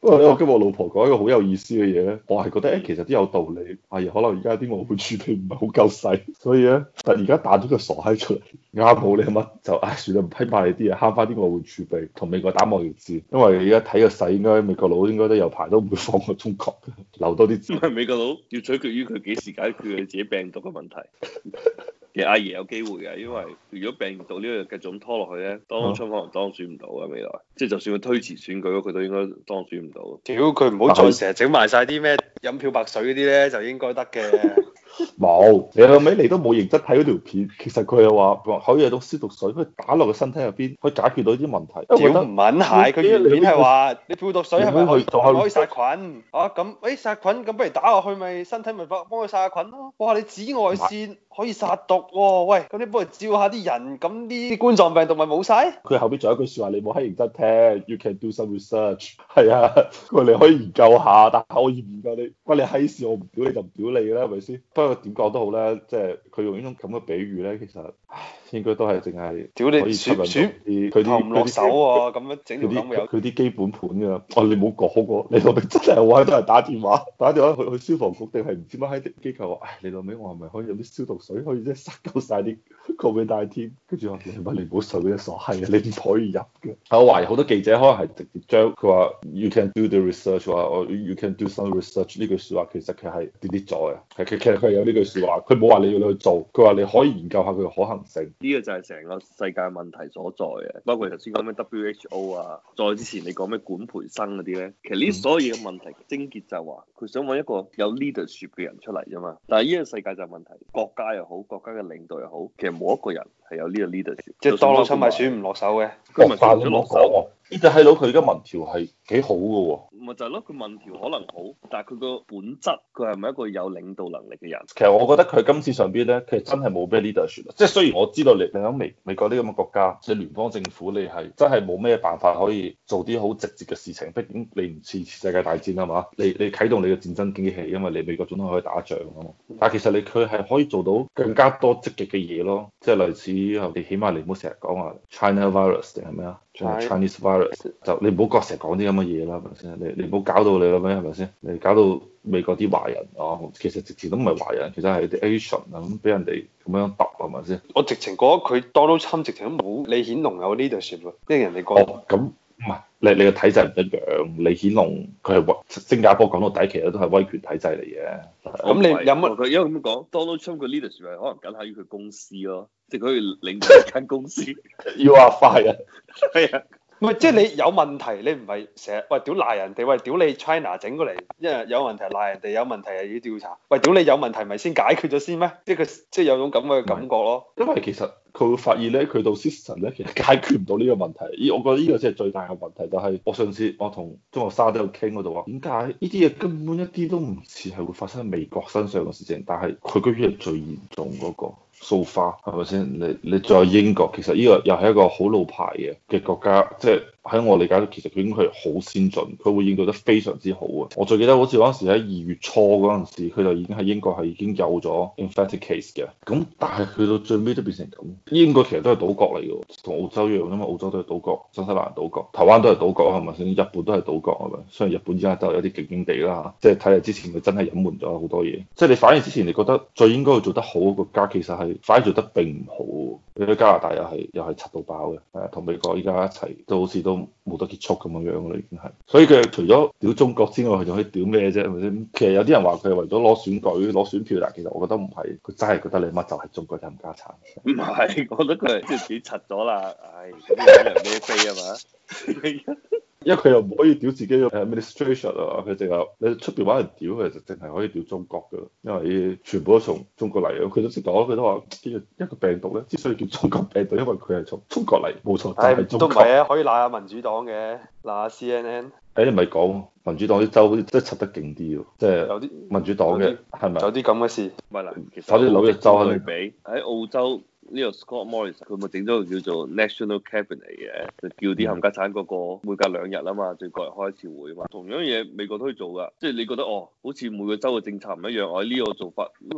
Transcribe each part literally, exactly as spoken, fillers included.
不過咧，我今日我老婆講一個好有意思嘅嘢咧，我係覺得誒其實都有道理。係可能而家啲外匯儲備唔係好夠使，所以咧，但而家彈咗個傻閪出嚟，啱好你乜就唉算啦，唔批埋你啲嘢，慳翻啲外匯儲備，同美國打貿易戰。因為而家睇個勢，應該美國佬應該都有排都唔會放過中國嘅，留多啲。 唔係美國佬要取決於佢幾時解決佢自己病毒嘅問題。其實阿爺有機會嘅，因為如果病毒呢個繼續咁拖落去咧，當初可能當選唔到啊未來。即係就算佢推遲選舉，佢都應該當選唔到。 屌佢唔好再成日整埋晒啲咩飲漂白水嗰啲咧，就應該得嘅。 冇，你後尾你都冇認真睇嗰條片，其實佢又話可以有種消毒水，可以打落個身體入邊，可以解決到啲問題。 屌唔撚係，佢原片係話你漂毒水係咪可以可以殺菌？啊咁，誒殺菌咁不如打落去咪身體咪幫幫佢殺下菌咯。哇！你紫外線可以殺毒喎，喂，咁你幫佢照下啲人，咁啲冠狀病毒咪冇晒？佢後邊仲有一句説話，你冇閪認真聽 ，You can do some research。係啊，佢話你可以研究下，但係我研究你關你閪事，我唔屌你就唔屌你啦，係咪先？不過點講都好咧，即係佢用呢種咁嘅比喻咧，其實唉應該都係淨係屌你選選啲佢啲唔落手喎，咁樣整條咁有佢啲基本盤㗎。哦，你冇講過，你老味真係好閪多人打電話，打電話去去消防局定係唔知乜閪啲機構話，唉，你老味我係咪可以有啲消毒水可以即係殺夠晒啲 Covid nineteen？ 跟住我話你乜你唔好水嗰啲傻閪啊，你唔可以入嘅。我懷疑好多記者可能係直接將佢話 You can do the research 話我 You can do some research 呢句説話其實佢係 delete 咗嘅。係其其實佢係有呢句説話，佢冇話你要你去做，佢話你可以研究下佢嘅可行性。 呢個就係成個世界問題所在嘅，包括頭先講咩 W H O 啊，再之前你講咩管培生嗰啲咧，其實呢所有嘢嘅問題症結就係話佢想揾一個有 leadership 嘅人出嚟啫嘛。但係呢個世界就係問題，國家又好，國家嘅領導又好，其實冇一個人係有呢個 leadership。 即係當勞侵咪選唔落手嘅， 佢咪選咗落手。呢隻閪佬佢而家民調係幾好嘅喎， 咪就係咯，佢民調可能好，但係佢個本質佢係咪一個有領導能力嘅人？ 其實我覺得佢今次上邊咧，其實真係冇咩 leadership。即係雖然我知道你你喺美美國呢咁嘅國家，即係聯邦政府，你係真係冇咩辦法可以做啲好直接嘅事情。畢竟你唔似世界大戰啊嘛，你你啟動你嘅戰爭機器，因為你美國總統可以打仗啊嘛。但係其實你佢係可以做到更加多積極嘅嘢咯，即係類似你起碼你唔好成日講話 China virus 定係咩啊？Chinese virus 就你唔好成日講啲咁嘅嘢啦，係咪先？你你唔好搞到你啦咩？係咪先？你搞到美國啲華人哦，其實直情都唔係華人，其實係啲 Asian 啊咁俾人哋咁樣揼係咪先？ 我直情覺得佢 Donald Trump 直情都冇李顯龍有 leadership 喎，即係人哋講。 哦，咁唔係你你個體制唔一樣，李顯龍佢係新加坡講到底其實都係威權體制嚟嘅。 咁你有乜？ 佢因為咁講，Donald Trump 嘅 leadership 係可能僅限於佢公司咯，即係佢可以領導一間公司。 You are fired。 係啊。 唔係，即係你有問題，你唔係成日喂屌賴人哋，喂屌你 China 整過嚟，因為有問題賴人哋，有問題又要調查，喂屌你有問題咪先解決咗先咩？即係佢即係有種咁嘅感覺咯。 因為其實佢會發現咧，佢到 system 咧，其實解決唔到呢個問題。咦，我覺得呢個先係最大嘅問題。就係我上次我同中學生都有傾嗰度話，點解呢啲嘢根本一啲都唔似係會發生喺美國身上嘅事情，但係佢居然係最嚴重嗰個。So far 係咪先？你你再英國，其實呢個又係一個好老牌嘅嘅國家，即係喺我理解，其實佢應該係好先進，佢會應對得非常之好啊！我最記得好似嗰陣時喺二月初嗰陣時，佢就已經喺英國係已經有咗 infected case 嘅。咁但係去到最尾都變成咁，英國其實都係島國嚟嘅，同澳洲一樣，因為澳洲都係島國，新西蘭島國，台灣都係島國係咪先？日本都係島國係咪？雖然日本而家都有啲勁勁地啦，即係睇嚟之前佢真係隱瞞咗好多嘢。即係你反而之前你覺得最應該要做得好嘅國家，其實係反而做得並唔好。你喺加拿大又係又係柒到爆嘅，誒同美國依家一齊都好似都冇得結束咁樣樣啦，已經係。所以佢除咗屌中國之外，佢仲可以屌咩啫？係咪先？其實有啲人話佢係為咗攞選舉、攞選票，但其實我覺得唔係，佢真係覺得你乜就係中國嘅冚家產。 唔係，我覺得佢係即係自己柒咗啦。唉，咁樣人孭飛啊嘛。 因為佢又唔可以屌自己嘅 administration 啊，佢淨係你出邊揾人屌，佢就淨係可以屌中國噶啦。因為全部都從中國嚟嘅，佢都識講，佢都話呢個一個病毒咧，之所以叫中國病毒，因為佢係從中國嚟，冇錯，就係中國。 都唔係啊，可以鬧下民主黨嘅，鬧下 C N N。 誒，你咪講民主黨啲州好似真係插得勁啲喎，即係有啲民主黨嘅係咪？ 有啲咁嘅事。 唔係啦，其實反正紐約州對比喺澳洲。呢個 Scott Morrison 佢咪整咗個叫做 National Cabinet 嘅，就叫啲冚家產嗰個每隔兩日啊嘛，就過嚟開一次會啊嘛。同樣嘢美國都可以做噶，即係你覺得哦，好似每個州嘅政策唔一樣，我喺呢個做法可能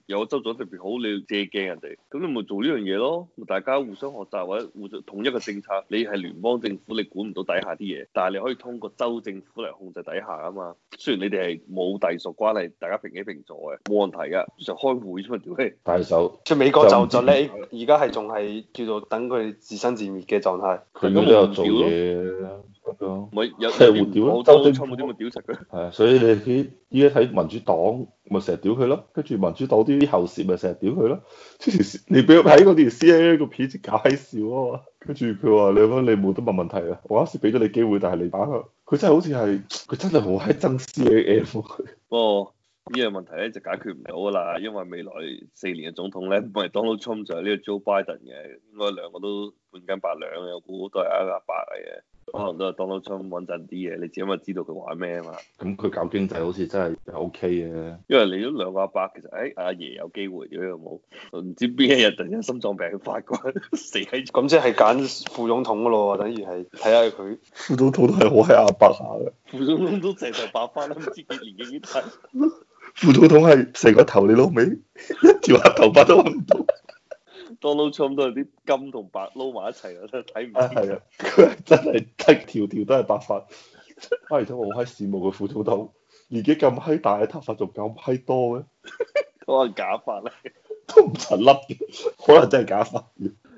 有個州做得特別好，你要借鏡人哋，咁你咪做呢樣嘢咯，大家互相學習或者互相統一個政策。你係聯邦政府，你管唔到底下啲嘢，但係你可以通過州政府嚟控制底下啊嘛。雖然你哋係冇隸屬關係，大家平起平坐嘅，冇問題噶，就開會啫嘛，屌你！ 但係就即係美國就就咧，而家係仲係叫做等佢自生自滅嘅狀態。 佢都有做嘢。 唔係有係互屌咯， 州政府冇點咪屌實佢。 係啊，所以你睇依家睇民主黨咪成日屌佢咯，跟住民主黨啲後事咪成日屌佢咯。之前你俾我睇嗰條 C N N 個片，搞閪笑啊嘛。跟住佢話你乜你冇得問問題啊，我嗰時俾咗你機會，但係你打佢，佢真係好似係佢真係好閪憎 C N N 佢。 哦，呢個問題咧就解決唔到噶啦，因為未來四年嘅總統咧唔係 Donald Trump 就係呢個 Joe Biden 嘅，應該兩個都半斤八兩嘅，我估都係一個阿伯嚟嘅。可能都係 Donald Trump 穩陣啲嘅，你只因為知道佢玩咩啊嘛。 咁佢搞經濟好似真係 O K 嘅。 因為你都兩個阿伯，其實誒、哎、阿爺有機會嘅有冇？唔知邊一日突然間心臟病發啩，死喺咁即係揀副總統噶咯喎，等於係睇下佢副總統都係好閪阿伯下嘅。 副總統都成頭白髮啦，唔知幾年紀幾大。 副總統係成個頭你老味，一條黑頭髮都揾唔到。 Donald Trump 都係啲金同白撈埋一齊啊，真係睇唔清。 係啊，佢係真係一條條都係白髮。而且我好閪羨慕佢副總統，年紀咁閪大，頭髮仲咁閪多嘅。 可能假髮咧， 都唔襯甩嘅，可能真係假髮。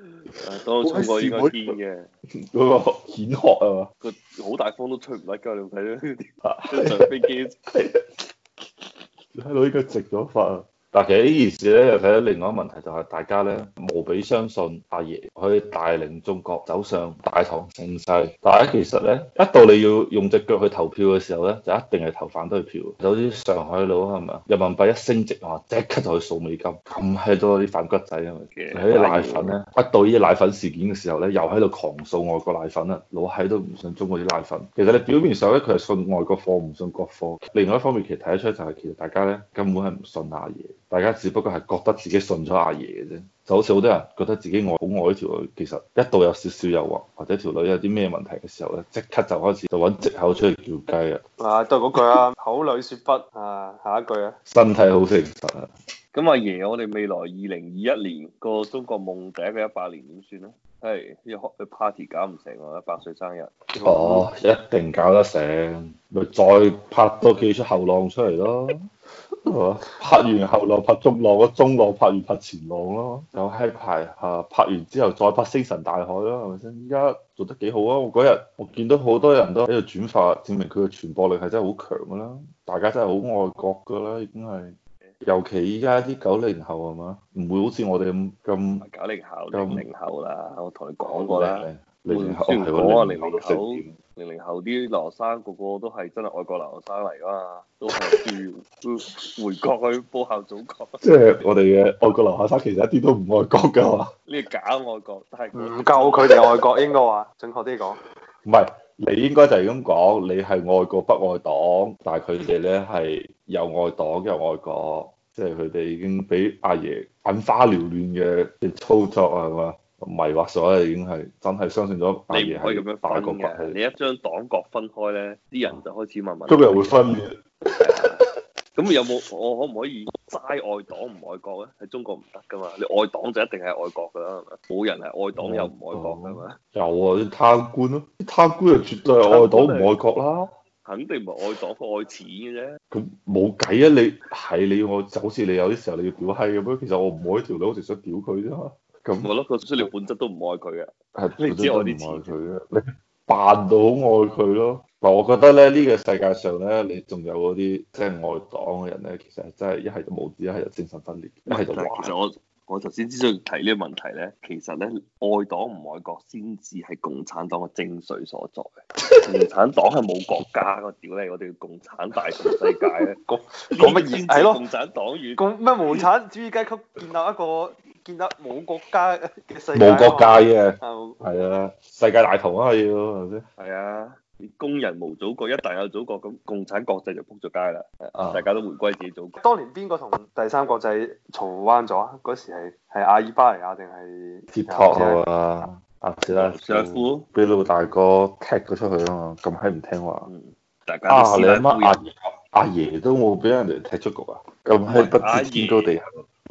Donald Trump 個應該堅嘅， 嗰個顯學啊嘛， 佢好大風都吹唔甩㗎，你有睇到啲上飛機。 你睇到應該直咗髮啊！但其實呢件事咧，又睇到另外一個問題，就係大家咧無比相信阿爺可以帶領中國走上大唐盛世。但係其實咧，一到你要用隻腳去投票嘅時候咧，就一定係投反對票。有啲上海佬係咪？人民幣一升值啊，即刻就去掃美金，咁閪多啲反骨仔啊！喺啲奶粉咧，一到呢啲奶粉事件嘅時候咧，又喺度狂掃外國奶粉啊！老閪都唔信中國啲奶粉。其實你表面上咧，佢係信外國貨，唔信國貨。另外一方面，其實睇得出就係其實大家咧根本係唔信阿爺。大家只不過係覺得自己信咗阿爺嘅啫，就好似好多人覺得自己愛好愛呢條女，其實一到有少少誘惑或者條女有啲咩問題嘅時候咧，即刻就開始就揾藉口出嚟叫雞啊！ 啊，都係嗰句啊，口裏説不啊，下一句啊， 身體好誠實啊！ 咁阿爺，我哋未來二零二一年個中國夢第一個一百年點算咧？係要開個 party 搞唔成喎，一百歲生日。 哦，一定搞得成，咪再拍多幾出後浪出嚟咯。拍完後浪拍中浪，個中浪拍完拍前浪咯，有閪排嚇，拍完之後再拍星辰大海咯，係咪先？依家做得幾好啊！我嗰日我見到好多人都喺度轉發，證明佢嘅傳播力係真係好強噶啦，大家真係好愛國噶啦，已經係。尤其依家啲九零後係嘛，唔會好似我哋咁咁。 九零後、零零後啦，我同你講過啦。 零零後雖然講啊，零零後， 零零零後啲留學生個個都係真係愛國留學生嚟噶嘛，都係要回國去報效祖國。 即係我哋嘅愛國留學生，其實一啲都唔愛國㗎嘛。 呢個假愛國，但係唔夠佢哋愛國，應該話準確啲講。 唔係，你應該就係咁講，你係愛國不愛黨，但係佢哋咧係又愛黨又愛國，即係佢哋已經俾阿爺眼花繚亂嘅操作係嘛？迷惑咗，已經係真係相信咗阿爺係大國崛起。 你一將黨國分開咧，啲人就開始問問。 今日會分裂。 咁有冇我可唔可以齋愛黨唔愛國咧？喺中國唔得噶嘛，你愛黨就一定係愛國噶啦，係咪？冇人係愛黨又唔愛國噶嘛。 有啊，啲貪官咯，啲貪官就絕對係愛黨唔愛國啦。 肯定唔係愛黨，愛錢嘅啫。 咁冇計啊！你係你要我就好似你有啲時候你要屌閪咁樣，其實我唔愛條女，我淨想屌佢啫嘛。咁我咯，個出嚟本質都唔愛佢嘅， 係你知我啲錢佢嘅，你扮到好愛佢咯。嗱，我覺得咧呢、呢個世界上咧，你仲有嗰啲即係愛黨嘅人咧，其實係真係一係就冇知，一係就精神分裂，一係就壞。 其實我我頭先之所以提呢個問題咧，其實咧愛黨唔愛國先至係共產黨嘅精髓所在。共產黨係冇國家個屌你，我哋要共產大同世界咧。講講乜嘢？係咯， 共產黨與共咩無產主義階級建立一個建立冇國家嘅世界。 冇國界嘅， 係係啊，世界大同啊要係咪先？ 係啊。工人無祖國，一旦有祖國，咁共產國際就仆咗街啦。啊、大家都回歸自己祖國。 當年邊個同第三國際嘈彎咗啊？嗰時係係阿爾巴尼亞定係鐵托啊？阿斯拉夫俾老大哥踢咗出去啊嘛，咁閪唔聽話。 嗯、大家啊， 你阿媽阿爺阿爺都冇俾人哋踢出局啊？咁閪不知天高地厚。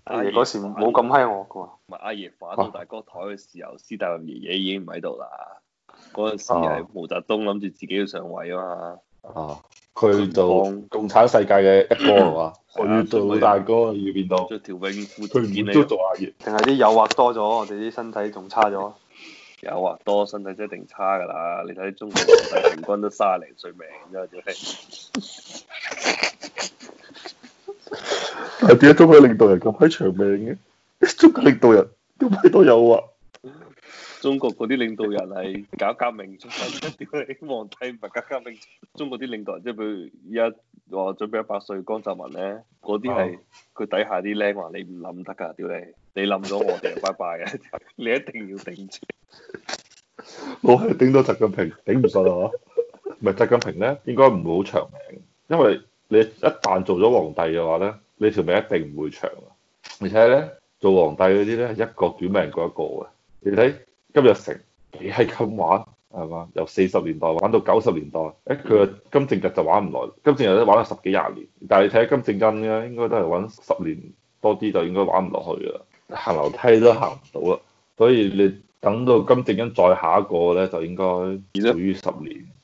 阿爺嗰時冇咁閪惡噶喎。 唔係阿爺反到大哥台嘅時候，斯大林爺爺已經唔喺度啦。嗰陣時係毛澤東諗住自己要上位啊嘛。 啊！佢做共產世界嘅一哥係嘛？佢做老大哥要變到， 着條泳褲， 佢唔都做阿爺， 定係啲誘惑多咗，我哋啲身體仲差咗。 誘惑多，身體一定差㗎啦！你睇中國皇帝平均都卅零歲命啫，屌你！ 但係點解中國領導人咁閪長命嘅？中國領導人咁閪多誘惑。 中國嗰啲領導人係搞革命出身，屌你！皇帝唔係搞革命，中國啲領導人即係譬如依家話準備一百歲江澤民咧，嗰啲係佢底下啲僆話你唔冧得㗎，屌你！你冧咗我哋就拜拜嘅，你一定要頂住。 我係頂到習近平頂唔順啊！唔係習近平咧，應該唔會好長命，因為你一旦做咗皇帝嘅話咧，你條命一定唔會長啊！而且咧，做皇帝嗰啲咧，一個短命過一個嘅。你睇金日成幾係咁玩係嘛？由四十年代玩到九十年代，誒佢個金正日就玩唔耐，金正日都玩咗十幾廿年。但係你睇金正恩咧，應該都係玩十年多啲就應該玩唔落去㗎啦，行樓梯都行唔到啦。所以你等到金正恩再下一個咧，就應該少於十年。